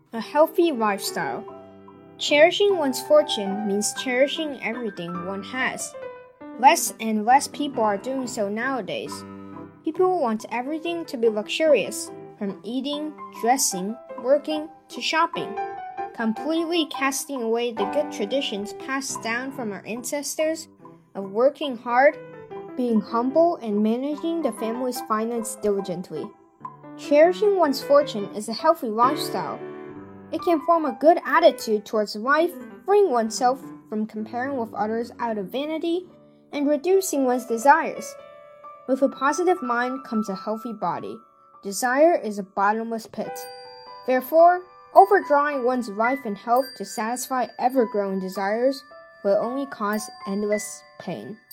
A healthy lifestyle. Cherishing one's fortune means cherishing everything one has. Less and less people are doing so nowadays. People want everything to be luxurious, from eating, dressing, working, to shopping, completely casting away the good traditions passed down from our ancestors of working hard, being humble, and managing the family's finance diligently. Cherishing one's fortune is a healthy lifestyle. It can form a good attitude towards life, freeing oneself from comparing with others out of vanity, and reducing one's desires. With a positive mind comes a healthy body. Desire is a bottomless pit. Therefore, overdrawing one's life and health to satisfy ever-growing desires will only cause endless pain.